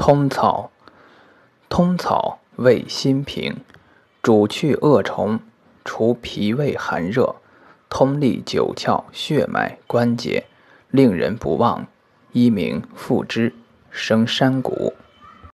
通草，通草味辛平，主去恶虫，除脾胃寒热，通利九窍、血脉、关节，令人不忘。一名附之，生山谷。